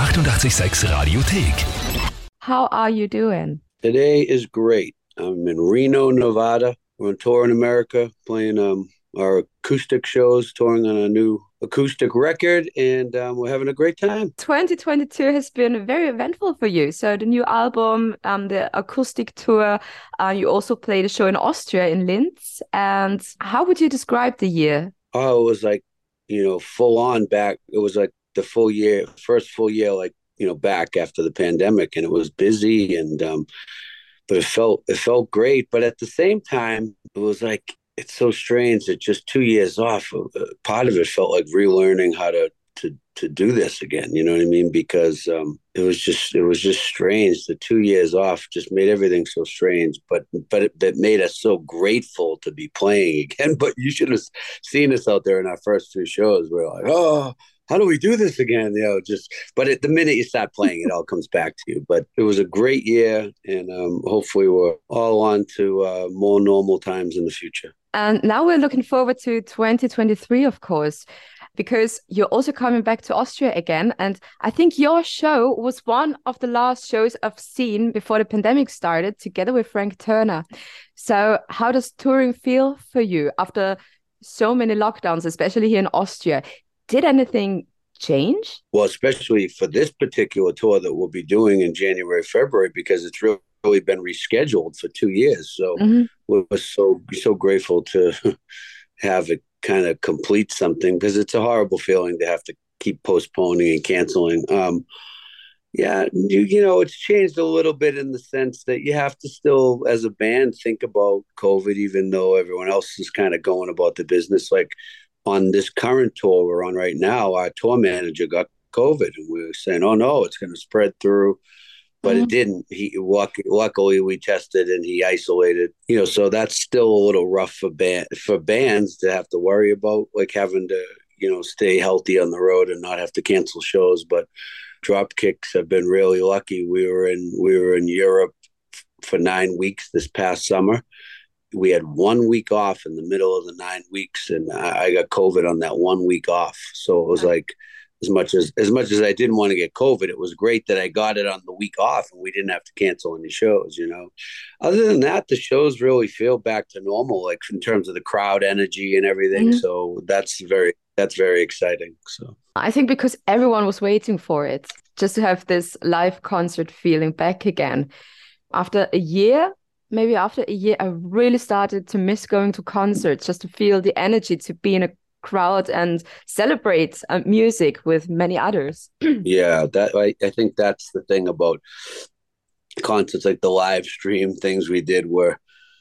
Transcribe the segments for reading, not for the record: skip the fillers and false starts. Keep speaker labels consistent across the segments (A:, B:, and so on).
A: 886 Radiothek.
B: How are you doing?
C: Today is great. I'm in Reno, Nevada. We're on tour in America, playing our acoustic shows, touring on a new acoustic record, and we're having a great time.
B: 2022 has been very eventful for you. So the new album, the acoustic tour, you also played a show in Austria, in Linz. And how would you describe the year?
C: Oh, it was like, full on back. It was like the full year, first full year, like, back after the pandemic, and it was busy but it felt great. But at the same time, it was like, it's so strange that just 2 years off, part of it felt like relearning how to do this again. You know what I mean? Because it was just strange. The 2 years off just made everything so strange. But it made us so grateful to be playing again. But you should have seen us out there in our first two shows. We're like, oh, how do we do this again? But at the minute you start playing, it all comes back to you. But it was a great year, and hopefully we're all on to more normal times in the future.
B: And now we're looking forward to 2023, of course, because you're also coming back to Austria again. And I think your show was one of the last shows I've seen before the pandemic started, together with Frank Turner. So how does touring feel for you after so many lockdowns, especially here in Austria? Did anything change?
C: Well, especially for this particular tour that we'll be doing in January, February, because it's really been rescheduled for 2 years. So we're so grateful to have it kind of complete something, because it's a horrible feeling to have to keep postponing and canceling. It's changed a little bit in the sense that you have to still, as a band, think about COVID, even though everyone else is kind of going about the business. Like, on this current tour we're on right now, our tour manager got COVID, and we were saying, oh no, it's going to spread through. But it didn't. Luckily we tested and he isolated. So that's still a little rough for bands to have to worry about, like having to, stay healthy on the road and not have to cancel shows. But Dropkicks have been really lucky. We were in Europe for 9 weeks this past summer. We had 1 week off in the middle of the 9 weeks, and I got COVID on that 1 week off. So it was like, as much as I didn't want to get COVID, it was great that I got it on the week off and we didn't have to cancel any shows. Other than that, the shows really feel back to normal, like in terms of the crowd energy and everything. So that's very exciting. So
B: I think because everyone was waiting for it, just to have this live concert feeling back again. After a year, I really started to miss going to concerts, just to feel the energy, to be in a crowd and celebrate music with many others.
C: Yeah, I think that's the thing about concerts, like the live stream things we did were,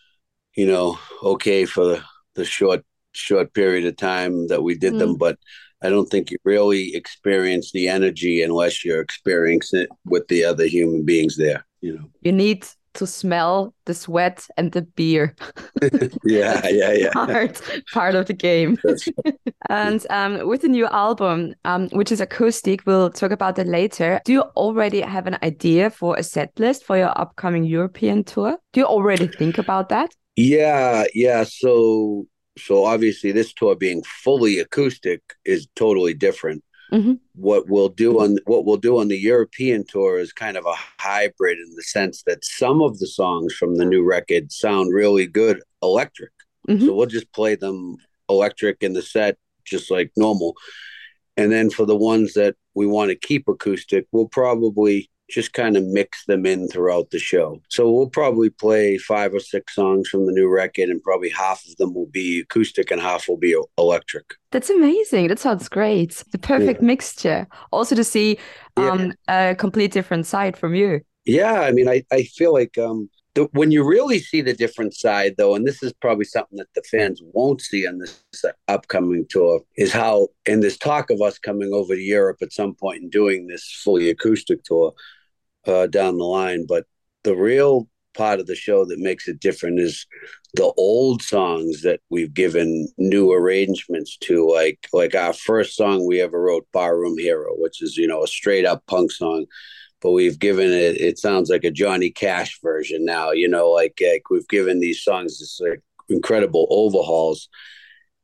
C: okay for the short period of time that we did them, but I don't think you really experience the energy unless you're experiencing it with the other human beings there.
B: You need to smell the sweat and the beer.
C: Yeah.
B: Part of the game. And with the new album, which is acoustic, we'll talk about that later. Do you already have an idea for a set list for your upcoming European tour? Do you already think about that?
C: Yeah. So obviously this tour being fully acoustic is totally different. What we'll do on the European tour is kind of a hybrid, in the sense that some of the songs from the new record sound really good electric. So we'll just play them electric in the set, just like normal. And then for the ones that we want to keep acoustic, we'll probably just kind of mix them in throughout the show. So we'll probably play 5 or 6 songs from the new record, and probably half of them will be acoustic and half will be electric.
B: That's amazing. That sounds great. The perfect mixture. Also to see a complete different side from you.
C: Yeah, I mean, I feel like when you really see the different side, though, and this is probably something that the fans won't see on this upcoming tour, is how, in this talk of us coming over to Europe at some point and doing this fully acoustic tour, down the line. But the real part of the show that makes it different is the old songs that we've given new arrangements to, like our first song we ever wrote, Barroom Hero, which is, a straight up punk song. But we've given it sounds like a Johnny Cash version now, like we've given these songs this incredible overhauls.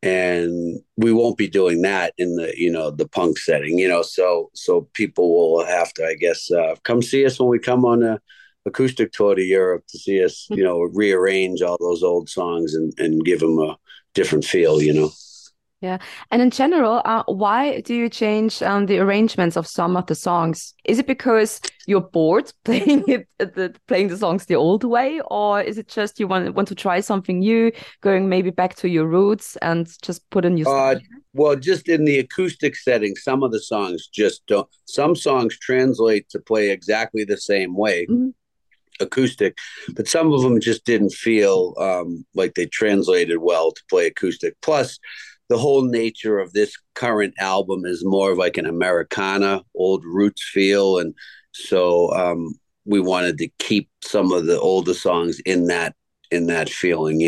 C: and we won't be doing that in the the punk setting, so people will have to, I guess, come see us when we come on a acoustic tour to Europe to see us, rearrange all those old songs and give them a different feel.
B: Yeah. And in general, why do you change the arrangements of some of the songs? Is it because you're bored playing the songs the old way, or is it just you want to try something new, going maybe back to your roots and just put a new stuff?
C: Well, just in the acoustic setting, some of the songs just don't. Some songs translate to play exactly the same way, acoustic, but some of them just didn't feel like they translated well to play acoustic. Plus, the whole nature of this current album is more of like an Americana, old roots feel. And so we wanted to keep some of the older songs in that feeling,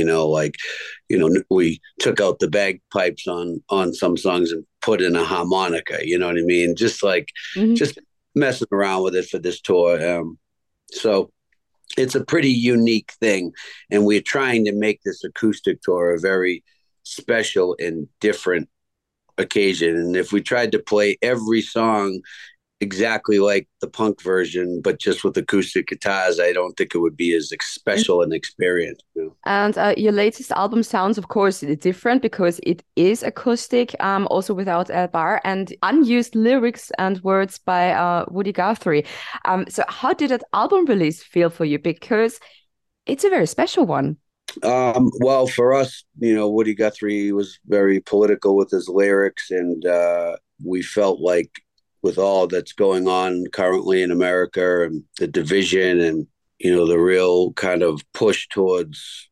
C: we took out the bagpipes on some songs and put in a harmonica, you know what I mean? Just like, just messing around with it for this tour. So it's a pretty unique thing. And we're trying to make this acoustic tour a very special and different occasion. And if we tried to play every song exactly like the punk version, but just with acoustic guitars, I don't think it would be as special an experience.
B: And your latest album sounds, of course, different because it is acoustic, also without a bar and unused lyrics and words by Woody Guthrie. So how did that album release feel for you? Because it's a very special one.
C: Well, for us, Woody Guthrie was very political with his lyrics, and we felt like with all that's going on currently in America and the division and, the real kind of push towards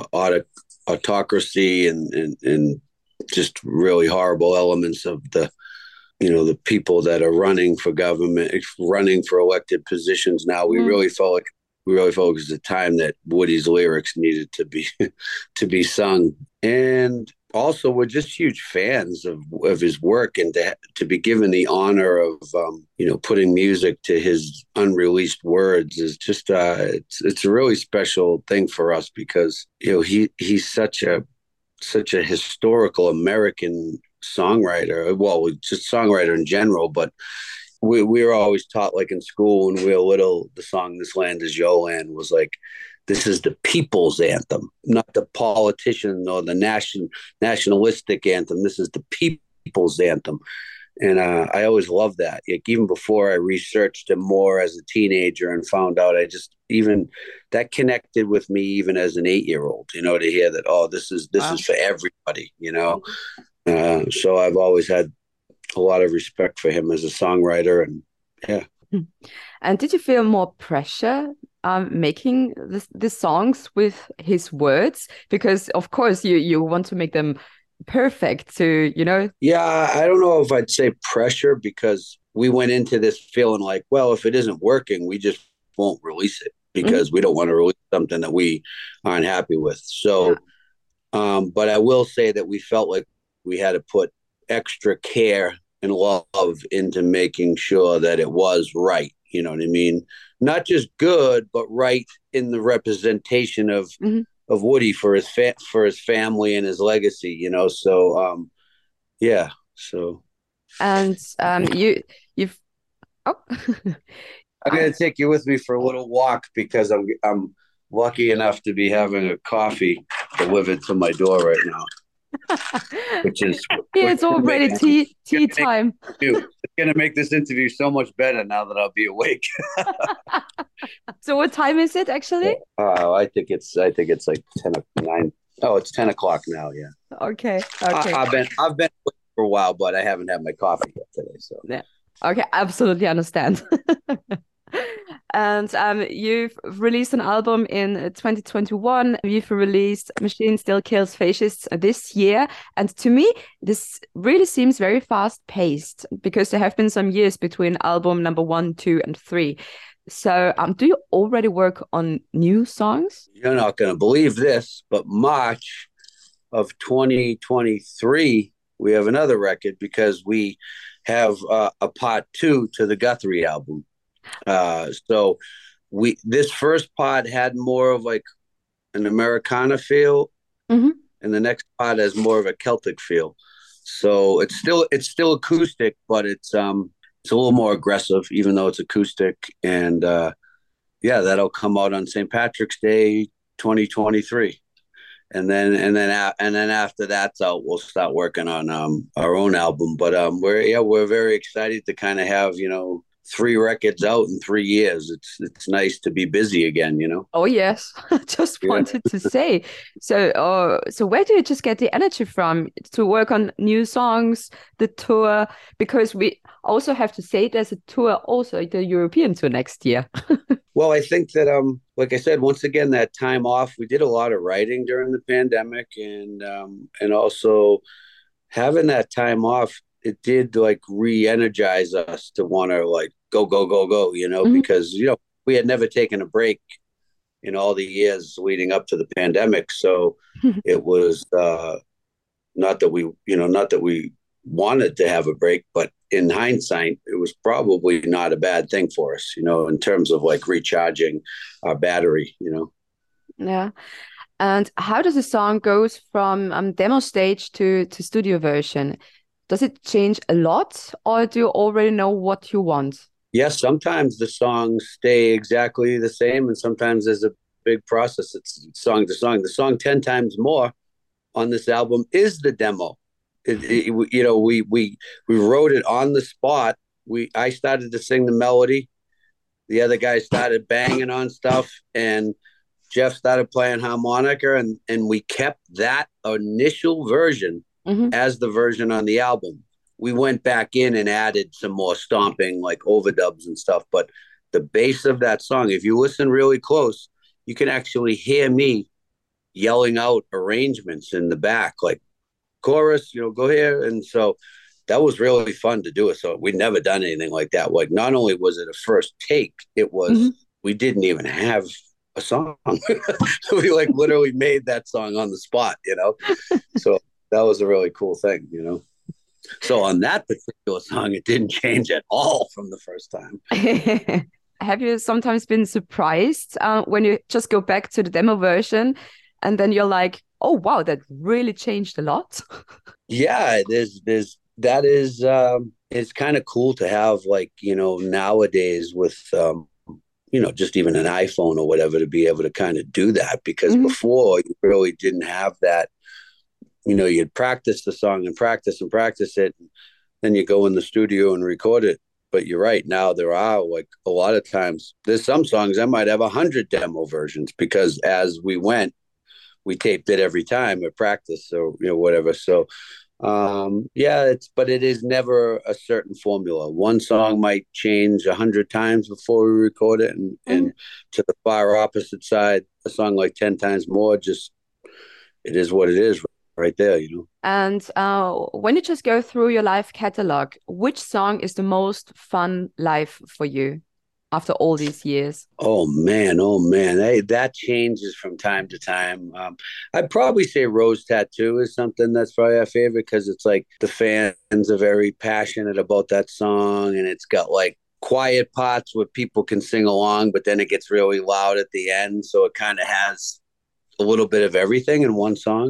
C: autocracy and just really horrible elements of the people that are running for government, running for elected positions now, we really felt it was a time that Woody's lyrics needed to be sung. And also, we're just huge fans of his work, and to be given the honor of putting music to his unreleased words is just it's a really special thing for us, because he's such a historical American songwriter. Well, just songwriter in general, but we were always taught, like in school when we were little, the song "This Land Is Your Land" was like, this is the people's anthem, not the politician or the nationalistic anthem. This is the people's anthem. And I always loved that. Like, even before I researched him more as a teenager and found out, even that connected with me even as an 8-year-old, to hear that, this is for everybody, so I've always had a lot of respect for him as a songwriter. And yeah.
B: And did you feel more pressure making the songs with his words? Because of course you want to make them perfect to,
C: Yeah, I don't know if I'd say pressure, because we went into this feeling like, well, if it isn't working, we just won't release it, because we don't want to release something that we aren't happy with. So, but I will say that we felt like we had to put extra care and love into making sure that it was right. You know what I mean? Not just good, but right in the representation of Woody for his family and his legacy. So yeah. So.
B: And you've. Oh.
C: I'm gonna take you with me for a little walk, because I'm lucky enough to be having a coffee delivered to my door right now.
B: It's already tea time.
C: It's going to make this interview so much better now that I'll be awake.
B: So what time is it actually?
C: I think it's like 10:09. Oh, it's 10 o'clock now. Yeah.
B: Okay.
C: I've been awake for a while, but I haven't had my coffee yet today. So
B: yeah. Okay, absolutely understand. And you've released an album in 2021. You've released Machine Still Kills Fascists this year. And to me, this really seems very fast-paced, because there have been some years between album number 1, 2, and 3. So do you already work on new songs?
C: You're not going to believe this, but March of 2023, we have another record, because we have a part 2 to the Guthrie album. So this first part had more of like an Americana feel, and and the next spot has more of a Celtic feel. So it's still acoustic, but it's a little more aggressive, even though it's acoustic. And yeah, that'll come out on St. Patrick's Day, 2023. And then after that's out, we'll start working on our own album. But we're very excited to kind of have 3 records out in 3 years. It's nice to be busy again,
B: Oh yes, just wanted to say. So where do you just get the energy from to work on new songs, the tour? Because we also have to say there's a tour, also the European tour next year.
C: Well, I think that like I said, once again, that time off, we did a lot of writing during the pandemic, and also having that time off, it did like re-energize us to want to like go, because we had never taken a break in all the years leading up to the pandemic. So it was not that we wanted to have a break, but in hindsight, it was probably not a bad thing for us, in terms of like recharging our battery.
B: Yeah. And how does a song goes from demo stage to studio version? Does it change a lot, or do you already know what you want?
C: Yes, sometimes the songs stay exactly the same, and sometimes there's a big process. It's song to song. The song 10 times more on this album is the demo. We wrote it on the spot. I started to sing the melody. The other guy started banging on stuff, and Jeff started playing harmonica, and we kept that initial version as the version on the album. We went back in and added some more stomping, like overdubs and stuff. But the bass of that song, if you listen really close, you can actually hear me yelling out arrangements in the back, like chorus, go here. And so that was really fun to do it. So we'd never done anything like that. Like, not only was it a first take, it was, we didn't even have a song. We like literally made that song on the spot, So that was a really cool thing, So on that particular song, it didn't change at all from the first time.
B: Have you sometimes been surprised when you just go back to the demo version and then you're like, oh, wow, that really changed a lot?
C: Yeah, that is, it's kind of cool to have, like, nowadays with, just even an iPhone or whatever, to be able to kind of do that, because before you really didn't have that. You'd practice the song and practice it, and then you go in the studio and record it. But you're right, now there are, like, a lot of times there's some songs I might have 100 demo versions, because as we went, we taped it every time at practice, or whatever. So but it is never a certain formula. One song might change 100 times before we record it, and to the far opposite side, a song like 10 times more, just, it is what it is right there,
B: And when you just go through your live catalog, which song is the most fun live for you after all these years?
C: Oh man, hey, that changes from time to time. I'd probably say Rose Tattoo is something that's probably our favorite, because it's like the fans are very passionate about that song, and it's got like quiet parts where people can sing along, but then it gets really loud at the end, so it kind of has a little bit of everything in one song,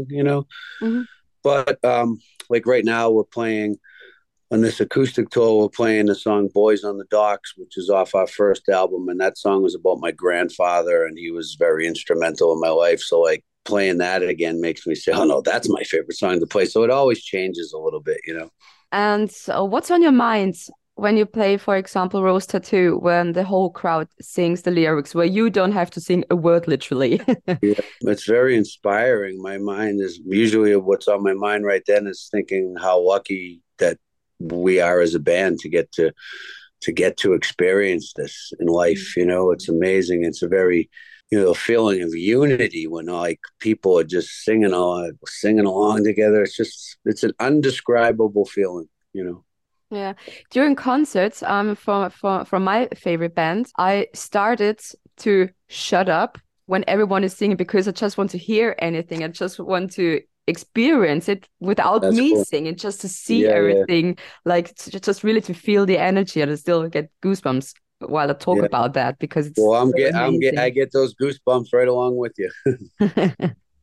C: But like right now, we're playing on this acoustic tour, we're playing the song Boys on the Docks, which is off our first album. And that song was about my grandfather, and he was very instrumental in my life. So like playing that again makes me say, oh no, that's my favorite song to play. So it always changes a little bit,
B: And what's on your mind when you play, for example, Rose Tattoo, when the whole crowd sings the lyrics, where you don't have to sing a word literally?
C: Yeah, it's very inspiring. My mind is usually, what's on my mind right then is thinking how lucky that we are as a band to get to experience this in life. It's amazing. It's a very, feeling of unity when like people are just singing along together. It's an undescribable feeling,
B: Yeah, during concerts, from my favorite band, I started to shut up when everyone is singing, because I just want to hear anything. I just want to experience it without
C: That's
B: me
C: cool.
B: singing, just to see everything, like just really to feel the energy. And I still get goosebumps while I talk about that, because it's
C: Well,
B: so amazing.
C: I get those goosebumps right along with you.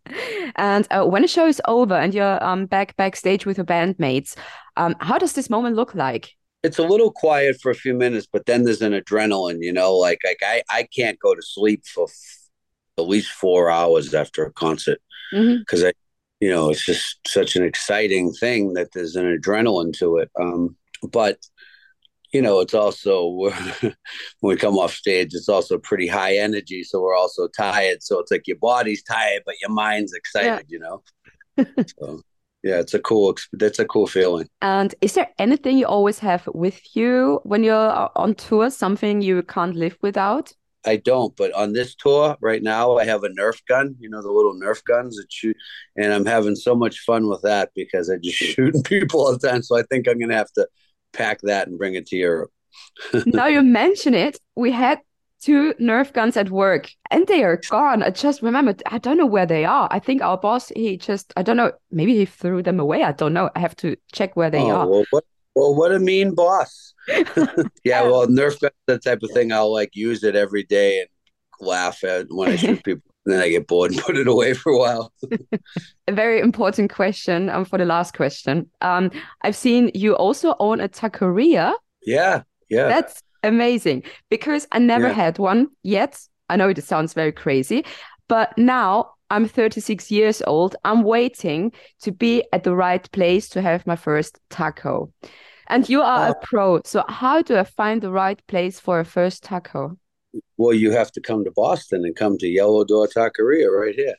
B: And when the show is over and you're backstage with your bandmates, how does this moment look like?
C: It's a little quiet for a few minutes, but then there's an adrenaline, like I can't go to sleep for at least 4 hours after a concert because it's just such an exciting thing that there's an adrenaline to it. But it's also when we come off stage, it's also pretty high energy. So we're also tired. So it's like your body's tired, but your mind's excited, So yeah, that's a cool feeling.
B: And is there anything you always have with you when you're on tour, something you can't live without?
C: I don't, but on this tour right now, I have a Nerf gun, the little Nerf guns that shoot, and I'm having so much fun with that because I just shooting people all the time. So I think I'm going to have to pack that and bring it to Europe.
B: Now you mention it, we had 2 Nerf guns at work and they are gone. I just remembered, I don't know where they are. I think our boss, I don't know, maybe he threw them away. I don't know. I have to check where they are.
C: Well, what a mean boss. Yeah, well, Nerf gun, that type of thing, I'll use it every day and laugh at when I shoot people. Then I get bored and put it away for a while.
B: A very important question for the last question. I've seen you also own a taqueria.
C: Yeah.
B: That's amazing because I never had one yet. I know it sounds very crazy, but now I'm 36 years old. I'm waiting to be at the right place to have my first taco. And you are a pro. So how do I find the right place for a first taco?
C: Well, you have to come to Boston and come to Yellow Door Taqueria right here.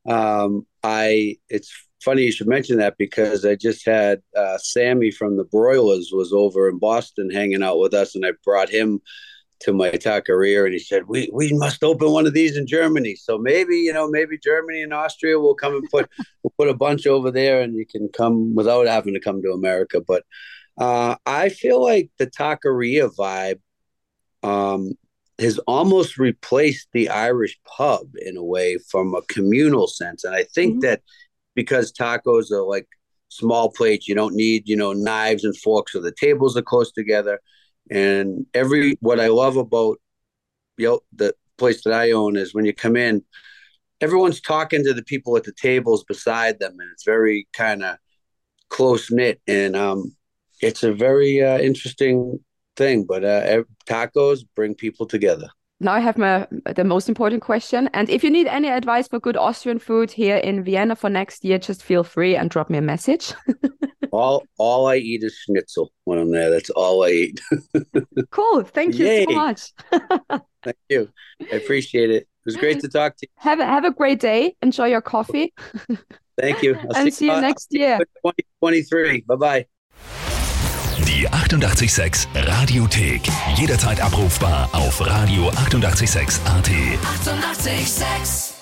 C: It's funny you should mention that because I just had Sammy from the Broilers was over in Boston hanging out with us, and I brought him to my taqueria, and he said, we must open one of these in Germany. So maybe Germany and Austria will come and we'll put a bunch over there, and you can come without having to come to America. But I feel like the taqueria vibe has almost replaced the Irish pub in a way from a communal sense. And I think that because tacos are like small plates, you don't need, knives and forks, so the tables are close together. And what I love about the place that I own is when you come in, everyone's talking to the people at the tables beside them, and it's very kind of close knit. And it's a very interesting thing, but tacos bring people together.
B: Now I have the most important question. And if you need any advice for good Austrian food here in Vienna for next year, just feel free and drop me a message.
C: all I eat is schnitzel when I'm there. That's all I eat.
B: Cool. Thank you so much.
C: Thank you. I appreciate it. It was great to talk to you.
B: Have a great day. Enjoy your coffee.
C: Thank you.
B: And see you next year.
C: 2023. Bye-bye.
A: Die 88,6 Radiothek. Jederzeit abrufbar auf radio886.at. 88,6.